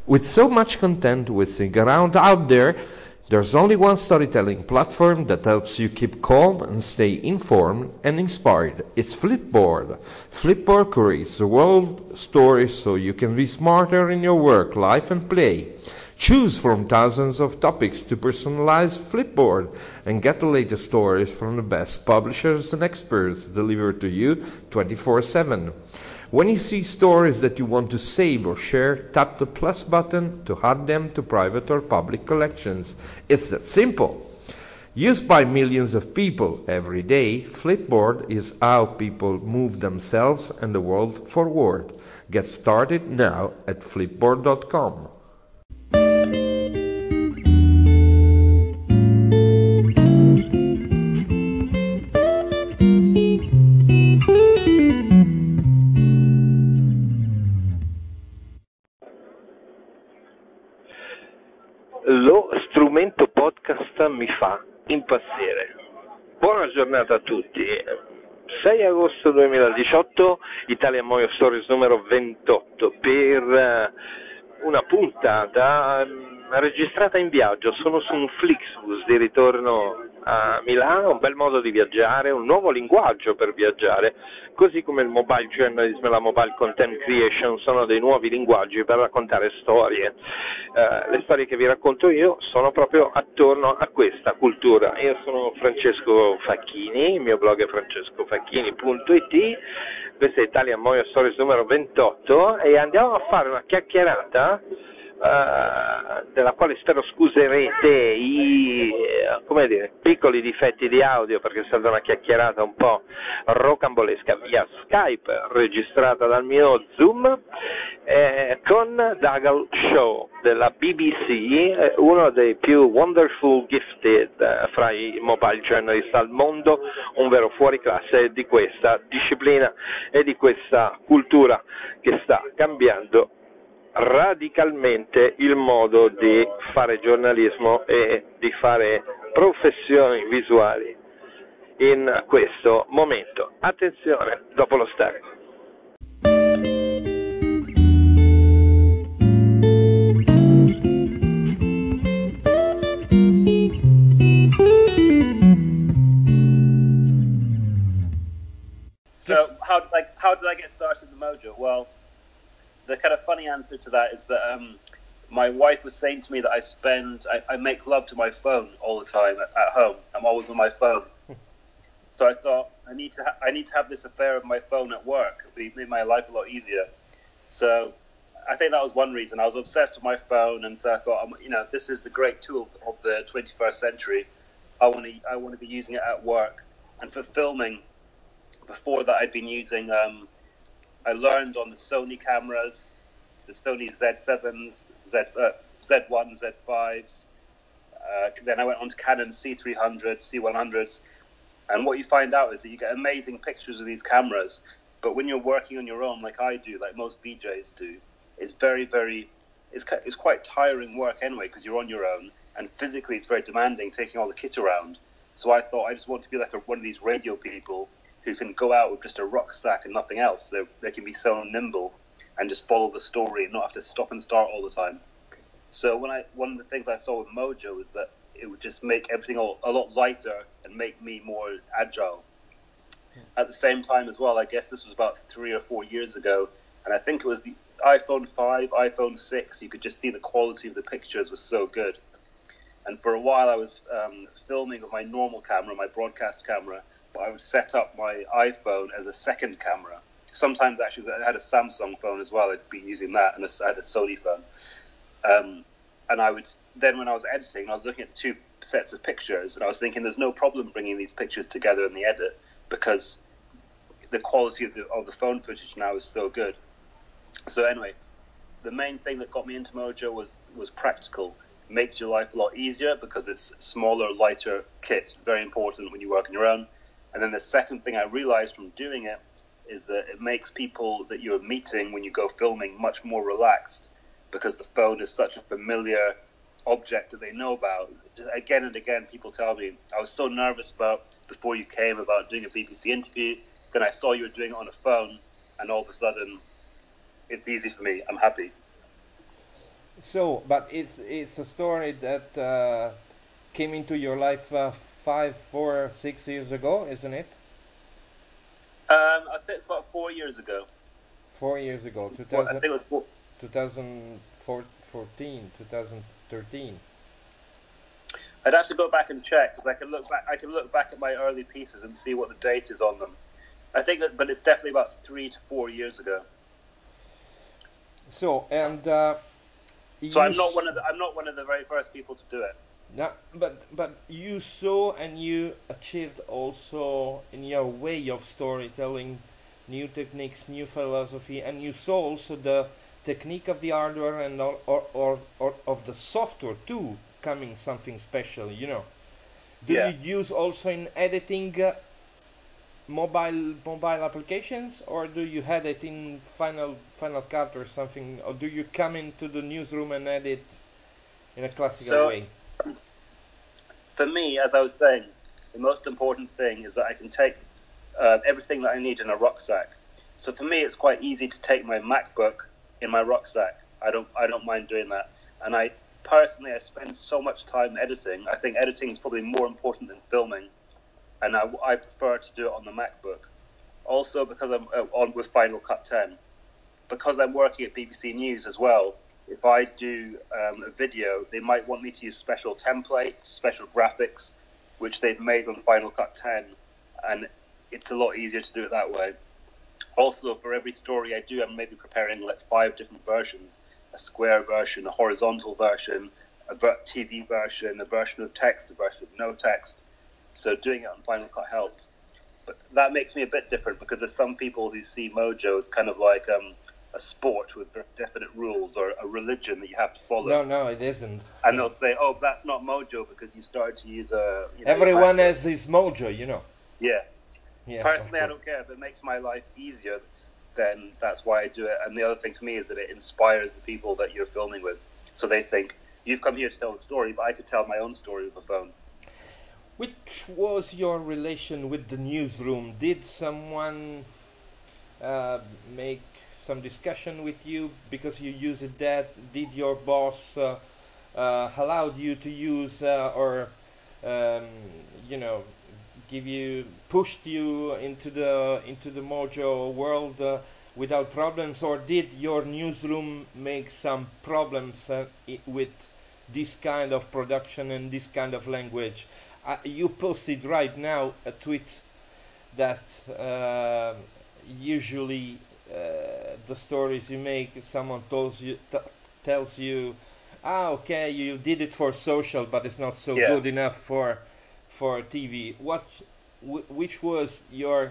With so much content whizzing around out there, there's only one storytelling platform that helps you keep calm and stay informed and inspired. It's Flipboard. Flipboard creates the world stories so you can be smarter in your work, life and play. Choose from thousands of topics to personalize Flipboard and get the latest stories from the best publishers and experts delivered to you 24/7. When you see stories that you want to save or share, tap the plus button to add them to private or public collections. It's that simple. Used by millions of people every day, Flipboard is how people move themselves and the world forward. Get started now at flipboard.com. Lo strumento podcast mi fa impazzire. Buona giornata a tutti. 6 agosto 2018, Italian Mojo Stories numero 28 per una puntata registrata in viaggio. Sono su un Flixbus di ritorno a Milano, un bel modo di viaggiare, un nuovo linguaggio per viaggiare, così come il mobile journalism e la mobile content creation sono dei nuovi linguaggi per raccontare storie. Le storie che vi racconto io sono proprio attorno a questa cultura. Io sono Francesco Facchini, il mio blog è francescofacchini.it, questa è Italian Mojo Stories numero 28 e andiamo a fare una chiacchierata della quale spero scuserete i piccoli difetti di audio, perché è stata una chiacchierata un po' rocambolesca via Skype registrata dal mio Zoom con Dougal Shaw della BBC, uno dei più wonderful gifted fra i mobile journalist al mondo, un vero fuoriclasse di questa disciplina e di questa cultura che sta cambiando radicalmente il modo di fare giornalismo e di fare professioni visuali in questo momento. Attenzione, dopo lo stacco. So how did I get started in Mojo? Well, the kind of funny answer to that is that my wife was saying to me that I make love to my phone all the time at home. I'm always on my phone. So I thought I need to have this affair of my phone at work. It made my life a lot easier. So I think that was one reason. I was obsessed with my phone, and so I thought, this is the great tool of the 21st century. I want to be using it at work. And for filming, before that, I'd been using. I learned on the Sony cameras, the Sony Z7s, Z1s, Z5s. Then I went on to Canon C300s, C100s. And what you find out is that you get amazing pictures of these cameras. But when you're working on your own, like I do, like most VJs do, it's it's quite tiring work anyway, because you're on your own. And physically, it's very demanding taking all the kit around. So I thought I just want to be like one of these radio people who can go out with just a rucksack and nothing else. They can be so nimble and just follow the story and not have to stop and start all the time. So one of the things I saw with Mojo is that it would just make everything a lot lighter and make me more agile. At the same time as well, I guess this was about 3 or 4 years ago, and I think it was the iPhone 5, iPhone 6, you could just see the quality of the pictures was so good. And for a while I was filming with my normal camera, my broadcast camera, but I would set up my iPhone as a second camera. Sometimes actually I had a Samsung phone as well, I'd be using that, and I had a Sony phone. And then when I was editing, I was looking at the two sets of pictures, and I was thinking there's no problem bringing these pictures together in the edit, because the quality of the phone footage now is so good. So anyway, the main thing that got me into Mojo was practical. It makes your life a lot easier because it's smaller, lighter kit, very important when you work on your own. And then the second thing I realized from doing it is that it makes people that you're meeting when you go filming much more relaxed, because the phone is such a familiar object that they know about. Again and again, people tell me, I was so nervous before you came about doing a BBC interview, then I saw you were doing it on a phone, and all of a sudden, it's easy for me. I'm happy. So, but it's a story that came into your life 5, 4, 6 years ago, isn't it? I'd say it's about 4 years ago. 4 years ago, Well, I think it was 2014, 2013. I'd have to go back and check because I can look back. I can look back at my early pieces and see what the date is on them. I think, but it's definitely about 3 to 4 years ago. So and so I'm not one of the very first people to do it. No, but you saw and you achieved also in your way of storytelling new techniques, new philosophy, and you saw also the technique of the hardware and or of the software too coming something special. You know, do you use also in editing mobile applications, or do you edit in Final Cut or something, or do you come into the newsroom and edit in a classical way? For me, as I was saying, the most important thing is that I can take everything that I need in a rucksack. So for me, it's quite easy to take my MacBook in my rucksack. I don't mind doing that. And I spend so much time editing. I think editing is probably more important than filming, and I prefer to do it on the MacBook. Also, because I'm on with Final Cut 10, because I'm working at BBC News as well. If I do a video, they might want me to use special templates, special graphics, which they've made on Final Cut 10, and it's a lot easier to do it that way. Also, for every story I do, I'm maybe preparing like 5 different versions: a square version, a horizontal version, a TV version, a version of text, a version of no text. So doing it on Final Cut helps. But that makes me a bit different because there's some people who see Mojo as kind of like a sport with definite rules or a religion that you have to follow. No, it isn't. And they'll say, "Oh, that's not Mojo because you started to use a." Everyone has his Mojo, you know. Yeah. Personally, I don't care. If it makes my life easier, then that's why I do it. And the other thing for me is that it inspires the people that you're filming with. So they think, you've come here to tell the story, but I could tell my own story with a phone. Which was your relation with the newsroom? Did someone make some discussion with you because you used that? Did your boss allowed you to use or pushed you into the Mojo world without problems, or did your newsroom make some problems with this kind of production and this kind of language? You posted right now a tweet that usually the stories you make, someone tells you, okay, you did it for social, but it's not so good enough for TV. Which was your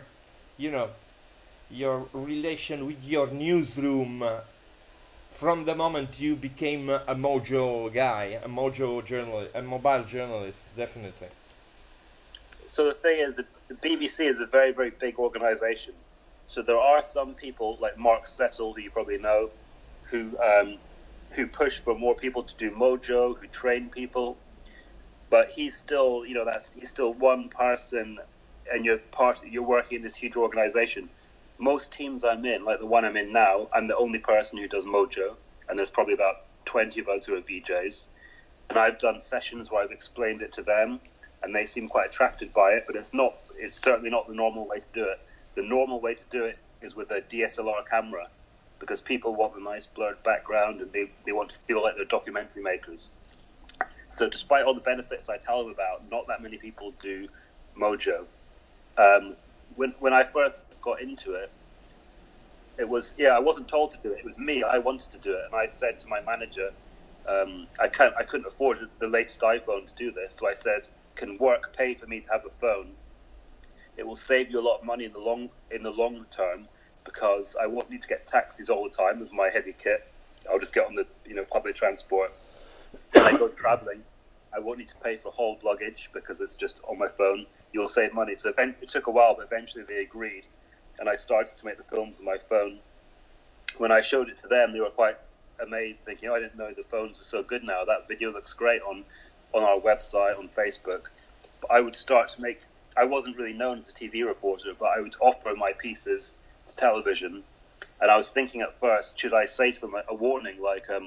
relation with your newsroom from the moment you became a Mojo guy, a Mojo journalist, a mobile journalist, definitely? So the thing is, the BBC is a very, very big organization. So there are some people like Mark Settle, who you probably know, who push for more people to do Mojo, who train people. But he's still, he's still one person, and you're working in this huge organization. Most teams I'm in, like the one I'm in now, I'm the only person who does Mojo, and there's probably about 20 of us who are VJs. And I've done sessions where I've explained it to them, and they seem quite attracted by it, but it's certainly not the normal way to do it. The normal way to do it is with a DSLR camera, because people want a nice blurred background, and they want to feel like they're documentary makers. So despite all the benefits I tell them about, not that many people do Mojo. When I first got into it, it was, I wasn't told to do it. It was me. I wanted to do it. And I said to my manager, I couldn't afford the latest iPhone to do this. So I said, can work pay for me to have a phone? It will save you a lot of money in the long term, because I won't need to get taxis all the time with my heavy kit. I'll just get on the public transport. When I go traveling, I won't need to pay for hauled luggage because it's just on my phone. You'll save money. So it took a while, but eventually they agreed, and I started to make the films on my phone. When I showed it to them, they were quite amazed, thinking, I didn't know the phones were so good now. That video looks great on our website, on Facebook. But I would start to make... I wasn't really known as a TV reporter, but I would offer my pieces to television. And I was thinking at first, should I say to them a warning like,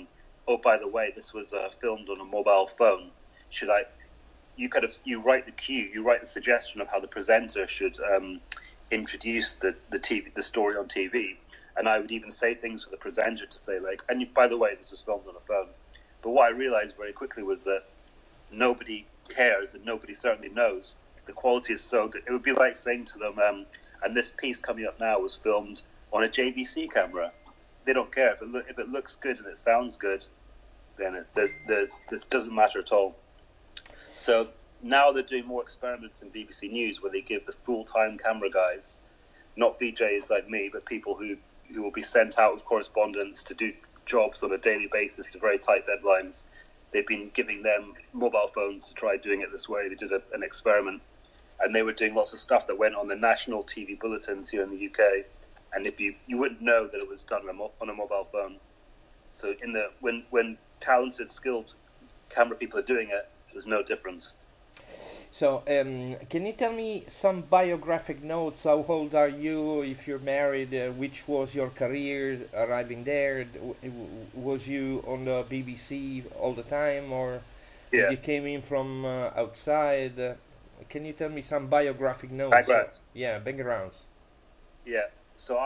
oh, by the way, this was filmed on a mobile phone. Should I? You write the cue, you write the suggestion of how the presenter should introduce the story on TV, and I would even say things for the presenter to say like, and by the way, this was filmed on a phone. But what I realized very quickly was that nobody cares, and nobody certainly knows. The quality is so good. It would be like saying to them, and this piece coming up now was filmed on a JVC camera. They don't care if it looks good and it sounds good, then this doesn't matter at all. So now they're doing more experiments in BBC News where they give the full-time camera guys, not VJs like me, but people who will be sent out with correspondence to do jobs on a daily basis to very tight deadlines. They've been giving them mobile phones to try doing it this way. They did an experiment, and they were doing lots of stuff that went on the national TV bulletins here in the UK. And if you wouldn't know that it was done on a mobile phone. So when talented, skilled camera people are doing it, there's no difference. So, can you tell me some biographic notes? How old are you? If you're married, which was your career arriving there? Was you on the BBC all the time, or Yeah. you came in from outside? Can you tell me some biographic notes? Backgrounds. Backgrounds. Yeah. So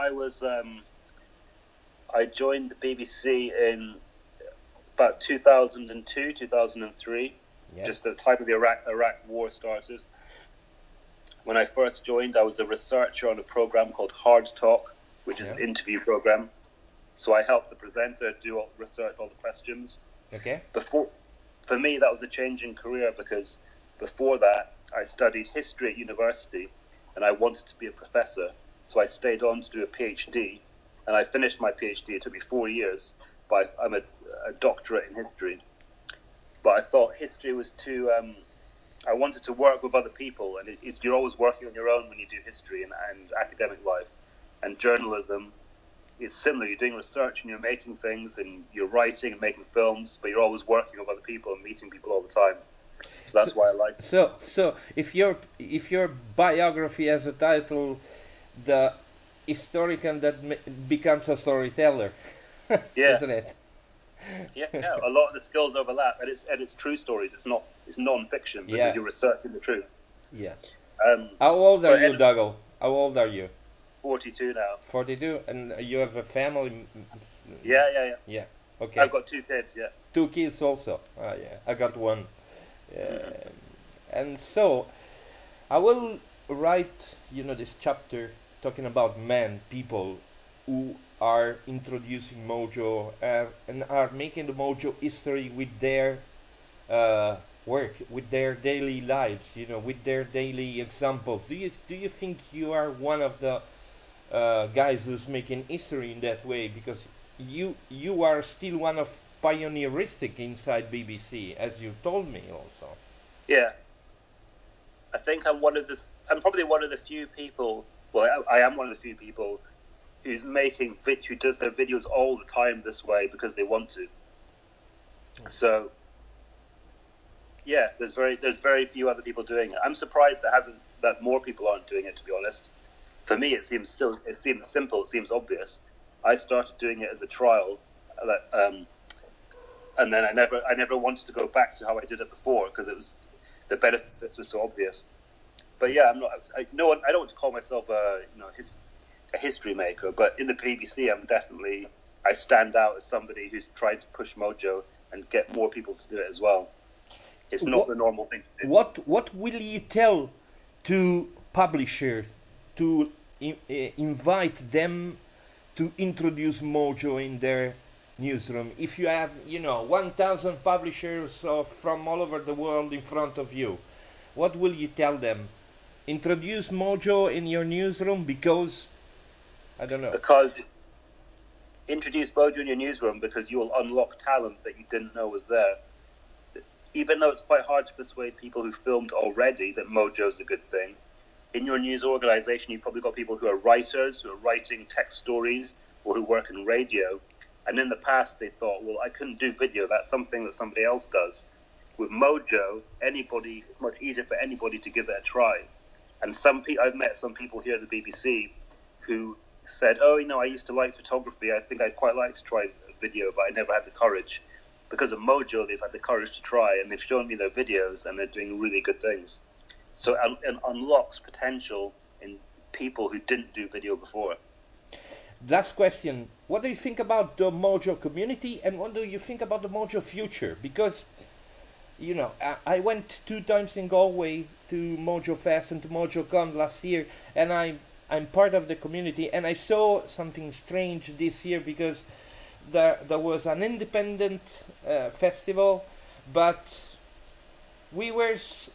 I joined the BBC in about 2002, 2003. Yeah. Just at the time of the Iraq War started. When I first joined, I was a researcher on a program called Hard Talk, which is an interview program. So I helped the presenter do all the research, all the questions. Okay. For me, that was a change in career because before that, I studied history at university and I wanted to be a professor. So I stayed on to do a PhD, and I finished my PhD. It took me 4 years, but I'm a doctorate in history. But I thought history was too. I wanted to work with other people, and you're always working on your own when you do history and academic life. And journalism is similar. You're doing research and you're making things, and you're writing and making films, but you're always working with other people and meeting people all the time. So that's why I like it. So if your biography has a title, the historian that becomes a storyteller, Yeah. isn't it? Yeah, a lot of the skills overlap, and it's true stories. It's non-fiction because you're researching the truth. Yeah. How old are you, But Dougal? How old are you? 42 now. 42, and you have a family? Yeah. Yeah. Okay. I've got 2 kids. Yeah. 2 kids also. Yeah, I got one. And so, I will write, this chapter talking about people who are introducing Mojo and are making the Mojo history with their work, with their daily lives, with their daily examples. Do you think you are one of the guys who's making history in that way? Because you are still one of pioneeristic inside BBC, as you told me also. Yeah. I think I'm probably one of the few people. Well, I am one of the few people who does their videos all the time this way because they want to. So, yeah, there's very few other people doing it. I'm surprised that more people aren't doing it. To be honest, for me, it seems simple. It seems obvious. I started doing it as a trial, and then I never wanted to go back to how I did it before because the benefits were so obvious. But yeah, I don't want to call myself a history maker, but in the BBC, I stand out as somebody who's trying to push Mojo and get more people to do it as well. It's not the normal thing to do. What will you tell to publishers to invite them to introduce Mojo in their newsroom? If you have, 1,000 publishers from all over the world in front of you, what will you tell them? Introduce Mojo in your newsroom because, I don't know. Because introduce Mojo in your newsroom because you will unlock talent that you didn't know was there. Even though it's quite hard to persuade people who filmed already that Mojo's a good thing, in your news organization, you've probably got people who are writers, who are writing text stories, or who work in radio. And in the past, they thought, well, I couldn't do video. That's something that somebody else does. With Mojo, it's much easier for anybody to give it a try. And I've met some people here at the BBC who said, I used to like photography. I think I'd quite like to try video, but I never had the courage. because of Mojo, they've had the courage to try, and they've shown me their videos, and they're doing really good things. So it unlocks potential in people who didn't do video before. Last question. What do you think about the Mojo community, and what do you think about the Mojo future? Because, you know, I went 2 times in Galway to Mojo Fest and to MojoCon last year, and I'm part of the community, and I saw something strange this year because there was an independent festival, but we were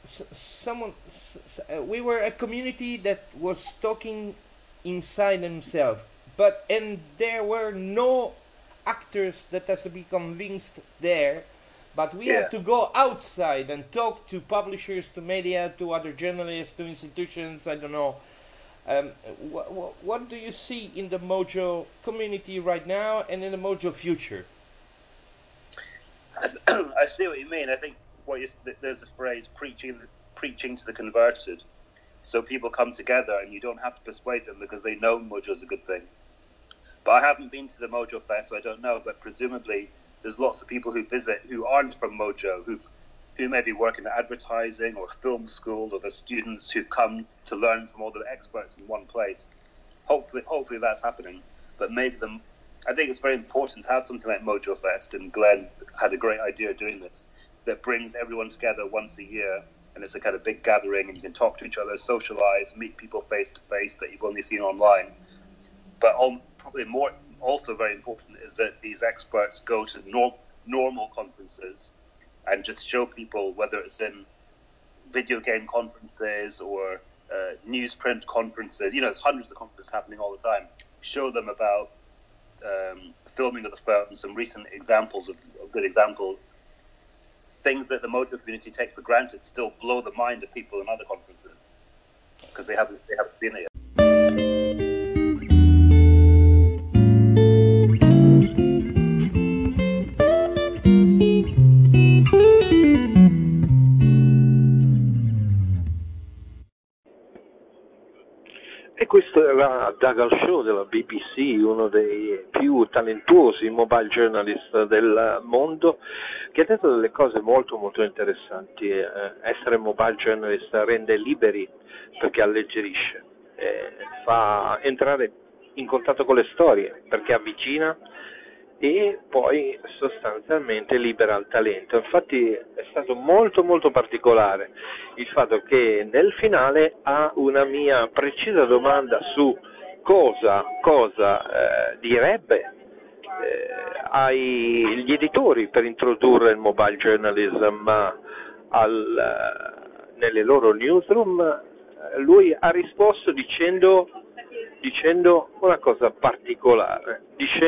we were a community that was talking inside themselves, and there were no actors that has to be convinced there, but we have to go outside and talk to publishers, to media, to other journalists, to institutions. I don't know. What do you see in the Mojo community right now and in the Mojo future? I see what you mean. I think there's a phrase, preaching to the converted. So people come together and you don't have to persuade them because they know Mojo is a good thing. But I haven't been to the Mojo Fest, so I don't know. But presumably there's lots of people who visit who aren't from Mojo, who maybe work in advertising or film school, or the students who've come to learn from all the experts in one place. Hopefully that's happening. But I think it's very important to have something like Mojo Fest, and Glenn's had a great idea doing this, that brings everyone together once a year, and it's a kind of big gathering, and you can talk to each other, socialize, meet people face to face that you've only seen online. But probably more, also very important, is that these experts go to normal conferences and just show people, whether it's in video game conferences or newsprint conferences, there's hundreds of conferences happening all the time, show them about filming of the film, some recent examples of good examples. Things that the Mojo community take for granted still blow the mind of people in other conferences because they haven't seen it yet. E questo era Dougal Show della BBC, uno dei più talentuosi mobile journalist del mondo, che ha detto delle cose molto molto interessanti. Essere mobile journalist rende liberi perché alleggerisce, fa entrare in contatto con le storie perché avvicina, e poi sostanzialmente libera il talento. Infatti è stato molto molto particolare il fatto che nel finale a una mia precisa domanda su cosa direbbe agli editori per introdurre il mobile journalism nelle loro newsroom, lui ha risposto dicendo una cosa particolare,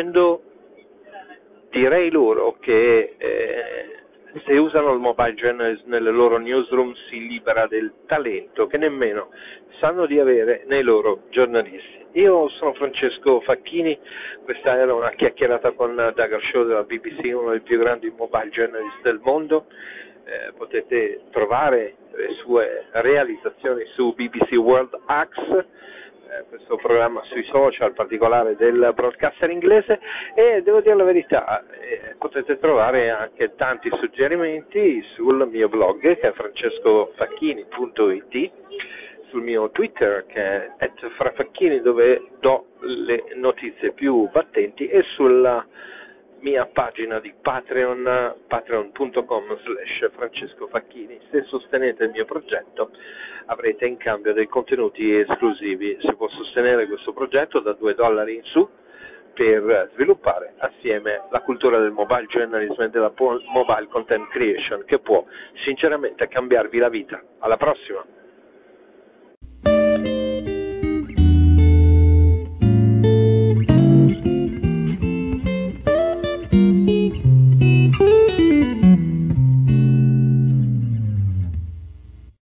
direi loro che se usano il mobile journalism nelle loro newsroom si libera del talento che nemmeno sanno di avere nei loro giornalisti. Io sono Francesco Facchini, questa era una chiacchierata con Dougal Show della BBC, uno dei più grandi mobile journalist del mondo. Potete trovare le sue realizzazioni su BBC World Axe, questo programma sui social, particolare del broadcaster inglese, e devo dire la verità, potete trovare anche tanti suggerimenti sul mio blog che è francescofacchini.it, sul mio Twitter che è @frafacchini, dove do le notizie più battenti, e sulla mia pagina di Patreon, patreon.com/Francesco Facchini. Se sostenete il mio progetto avrete in cambio dei contenuti esclusivi. Si può sostenere questo progetto da $2 in su per sviluppare assieme la cultura del mobile journalism e della mobile content creation, che può sinceramente cambiarvi la vita. Alla prossima!